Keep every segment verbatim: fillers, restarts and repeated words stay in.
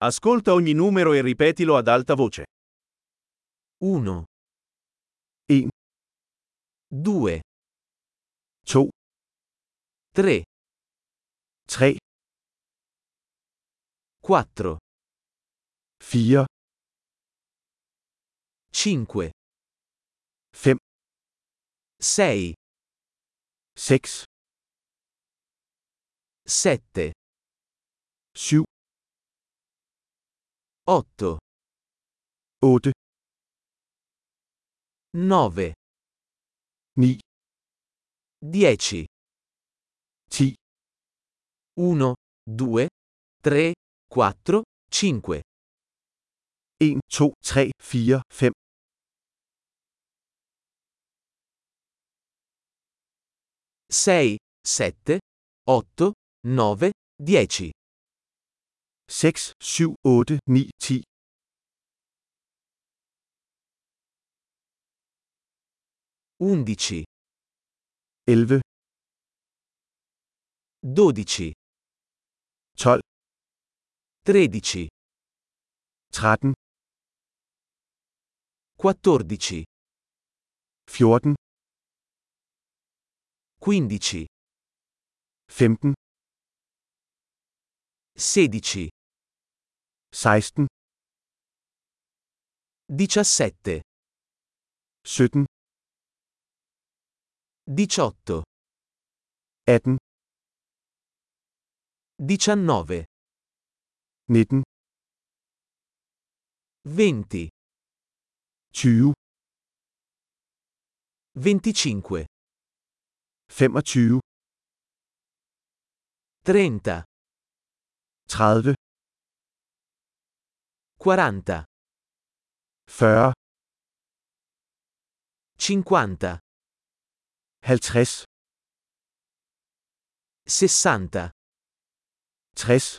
Ascolta ogni numero e ripetilo ad alta voce. uno, en, due, to, tre, tre, quattro, fire, cinque, fem, sei, seks, sette, syv, otto, otte, nove, ni, dieci, ti, uno, due, tre, quattro, cinque, en, to, tre, fire, fem, sei, sette, otto, nove, dieci, seks, syv, otte, ni, ti, undici, elleve, dodici, tolv, tredici, tretten, quattordici, fjorten, quindici, femten, sedici, seksten, diciassette, sytten, diciotto, atten, diciannove, nitten, venti, tyve, venticinque, femogtyve, trenta, tredive, quaranta, fyrre, cinquanta, halvtreds, sessanta, tres,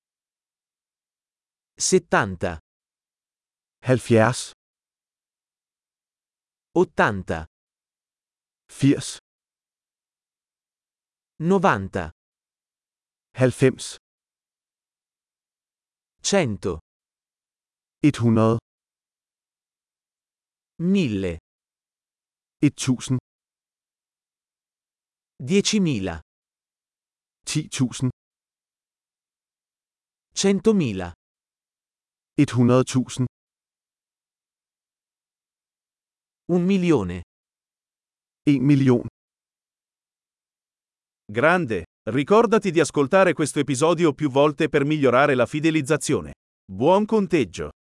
settanta, halvfjerds, ottanta, firs, novanta, halvfems, cento, et hundrede, mille, et tusind, diecimila, ti tusind, centomila, et hundrede tusind, un milione. en million. Grande! Ricordati di ascoltare questo episodio più volte per migliorare la fidelizzazione. Buon conteggio!